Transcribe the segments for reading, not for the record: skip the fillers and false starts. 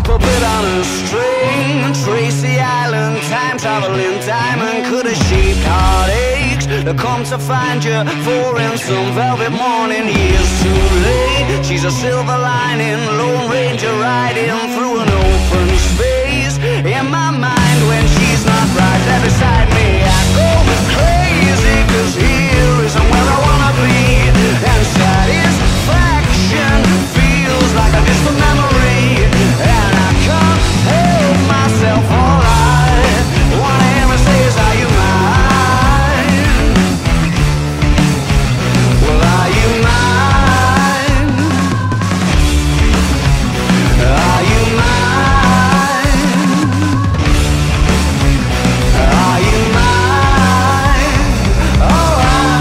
puppet on a string. Tracy Island, time traveling diamond, could have shaped heartaches to come to find you for in some velvet morning. Years too late, she's a silver lining, Lone Ranger riding through an open space. In my mind when she's not right there beside me, I go crazy, cause here isn't where I wanna be. And satisfaction feels like a distant memory, and I can't help myself. All I wanna hear her say is, are you mine? Well, are you mine? Are you mine? Are you mine? Oh,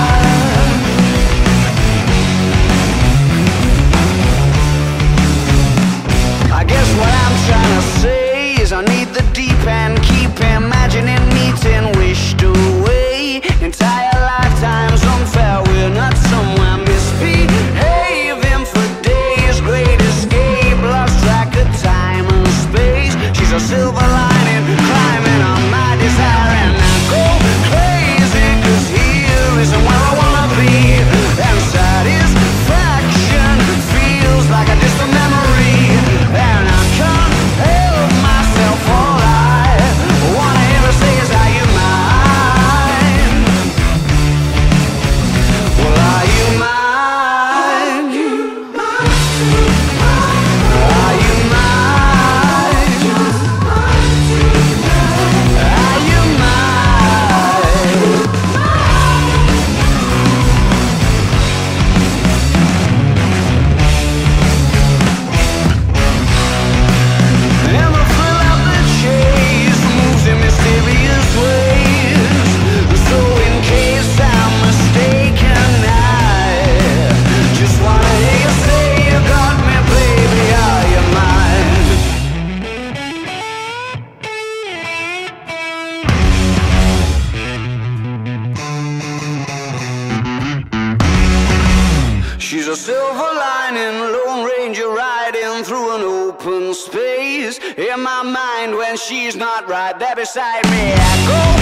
I guess what I'm trying to say is I need the deep end, keep imagining meeting wished away. Entire lifetimes unfair, we're not somewhere misbehaving for days. Great escape, lost track of time and space. She's a silver lining, climbing on my desire, and I go crazy, cause here isn't where I wanna be. And satisfaction feels like a distant memory, and I can't help myself. All I wanna hear her say is, are you mine? Well, are you mine? Are you mine? Are you mine? And the thrill of the chase moves in mysterious ways. So in case I'm mistaken, I just wanna hear you say you got me, baby, are you mine? She's a silver lining, Lone Ranger riding through an open space. In my mind when she's not right there beside me, I go